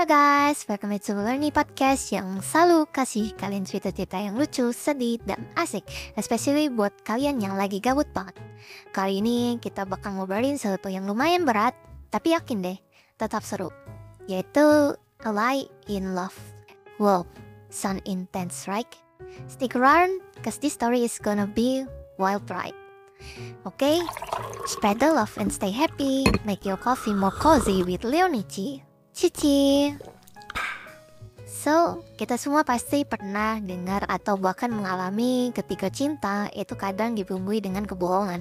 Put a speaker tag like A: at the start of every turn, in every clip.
A: guys, welcome back to Learning Podcast yang selalu kasih kalian cerita-cerita yang lucu, sedih, dan asik, especially buat kalian yang lagi gabut banget. Kali ini kita bakal ngobrolin sesuatu yang lumayan berat, tapi yakin deh, tetap seru, yaitu A Lie in Love. Wow, sound intense, right? Stick around, cause this story is gonna be wild ride. Okay, spread the love and stay happy. Make your coffee more cozy with Leonici. Cici. So, kita semua pasti pernah dengar atau bahkan mengalami ketika cinta itu kadang dibumbui dengan kebohongan.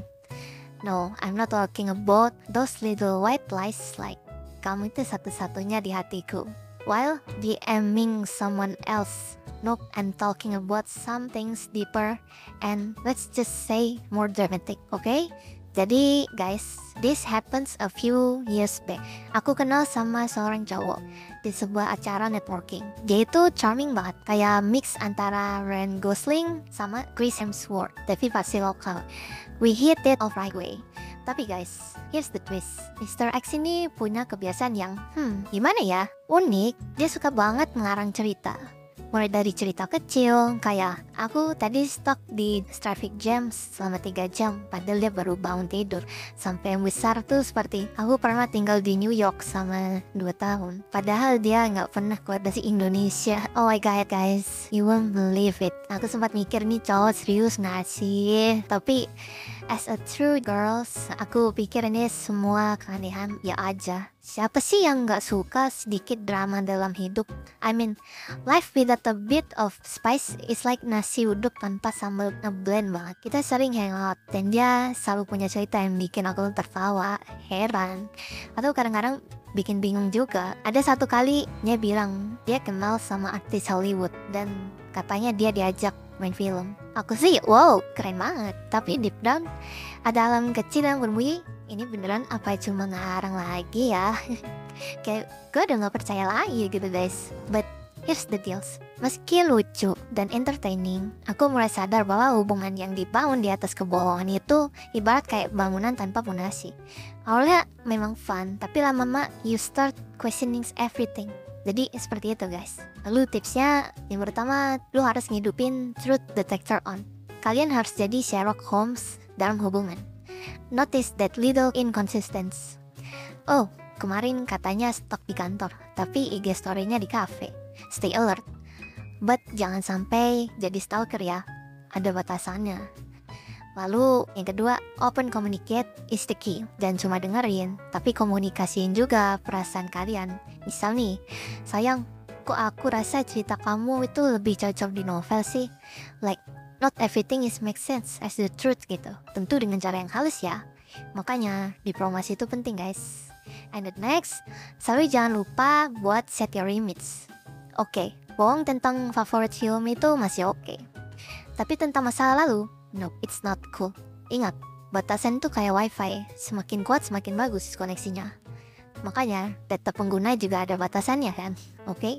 A: No, I'm not talking about those little white lies like kamu itu satu-satunya di hatiku. While DMing someone else, nope, I'm talking about some things deeper and let's just say more dramatic, okay? Jadi guys, this happens a few years back. Aku kenal sama seorang cowok di sebuah acara networking. Dia itu charming banget, kayak mix antara Ryan Gosling sama Chris Hemsworth, tapi pasti lokal. We hit it off right way. Tapi guys, here's the twist. Mr. X ini punya kebiasaan yang, gimana ya? Unik, dia suka banget mengarang cerita. Mulai dari cerita kecil, kayak aku tadi stuck di traffic jam selama 3 jam, padahal dia baru bangun tidur. Sampai yang besar tuh seperti, aku pernah tinggal di New York sama 2 tahun, padahal dia nggak pernah keluar dari Indonesia. Oh my god guys, you won't believe it. Aku sempat mikir nih cowok serius nggak sih? Tapi as a true girls, aku pikir ini semua keanehan ya aja. Siapa sih yang gak suka sedikit drama dalam hidup? I mean, life without a bit of spice is like nasi uduk tanpa sambal ngeblend banget. Kita sering hangout dan dia selalu punya cerita yang bikin aku tertawa, heran, atau kadang-kadang bikin bingung juga. Ada satu kali dia bilang dia kenal sama artis Hollywood dan katanya dia diajak main film. Aku sih, wow, keren banget. Tapi deep down ada alam kecil yang berbunyi, ini beneran apa cuma ngarang lagi ya? Kayak gue udah gak percaya lagi gitu guys. But here's the deals. Meski lucu dan entertaining, aku mulai sadar bahwa hubungan yang dibangun di atas kebohongan itu ibarat kayak bangunan tanpa fondasi. Awalnya memang fun, tapi lama-lama you start questioning everything. Jadi seperti itu guys. Lalu tipsnya, yang pertama, lu harus ngidupin truth detector on. Kalian harus jadi Sherlock Holmes dalam hubungan. Notice that little inconsistency. Oh, kemarin katanya stok di kantor, tapi IG story-nya di cafe. Stay alert. But jangan sampai jadi stalker ya. Ada batasannya. Lalu yang kedua, open communicate is the key. Dan cuma dengerin, tapi komunikasiin juga perasaan kalian. Misal nih, sayang, kok aku rasa cerita kamu itu lebih cocok di novel sih? Like, not everything is make sense as the truth gitu. Tentu dengan cara yang halus ya. Makanya, diplomasi itu penting guys. And the next, selalu jangan lupa buat set your limits. Oke, bohong tentang favorit film itu masih oke. Tapi tentang masa lalu, no, it's not cool. Ingat, batasan tuh kayak wifi, semakin kuat semakin bagus koneksinya. Makanya, data pengguna juga ada batasannya kan, oke?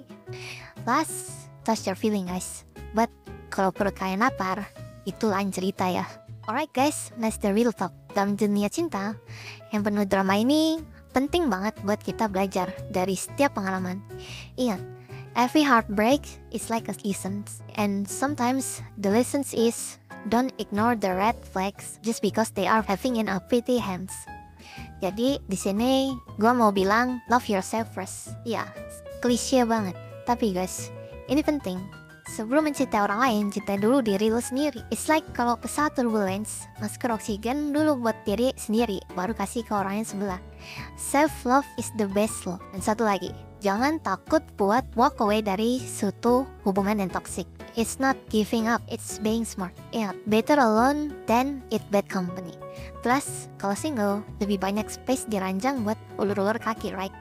A: Last, touch your feeling guys. But, kalau perut kalian lapar, itu lain cerita ya. Alright guys, let's the real talk. Dalam dunia cinta, yang penuh drama ini, penting banget buat kita belajar dari setiap pengalaman. Ingat, every heartbreak is like a lesson. And sometimes, the lessons is, don't ignore the red flags just because they are having in a pretty hands. Jadi di sini gue mau bilang love yourself first. Ya, klise banget. Tapi guys, ini penting. Sebelum mencintai orang lain, cintai dulu diri lu sendiri. It's like kalau pesawat turbulence, masker oksigen dulu buat diri sendiri, baru kasih ke orang yang sebelah. Self love is the best love. Dan satu lagi, jangan takut buat walk away dari suatu hubungan yang toxic. It's not giving up, it's being smart. Yeah, better alone than it bad company. Plus, kalau single, lebih banyak space di ranjang buat ulur-ulur kaki, right?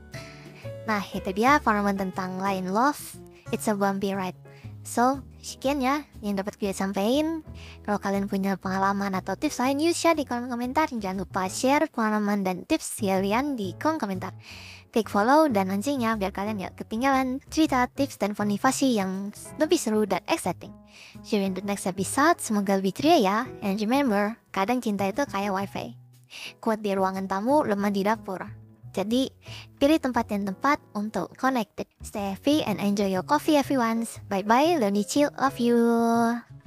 A: Nah, itu dia pengalaman tentang line love. It's a bumpy ride. So, sekian ya yang dapat gue sampaikan. Kalau kalian punya pengalaman atau tips lain, you share di kolom komentar. Jangan lupa share pengalaman dan tips kalian di kolom komentar. Klik follow dan loncengnya biar kalian gak ketinggalan cerita, tips, dan motivasi yang lebih seru dan exciting. See you in the next episode. Semoga lebih ceria ya. And remember, kadang cinta itu kayak wifi. Kuat di ruangan tamu, lemah di dapur. Jadi, pilih tempat yang tepat untuk connected. Stay happy and enjoy your coffee everyone. Bye-bye, Learny Chill. Love you.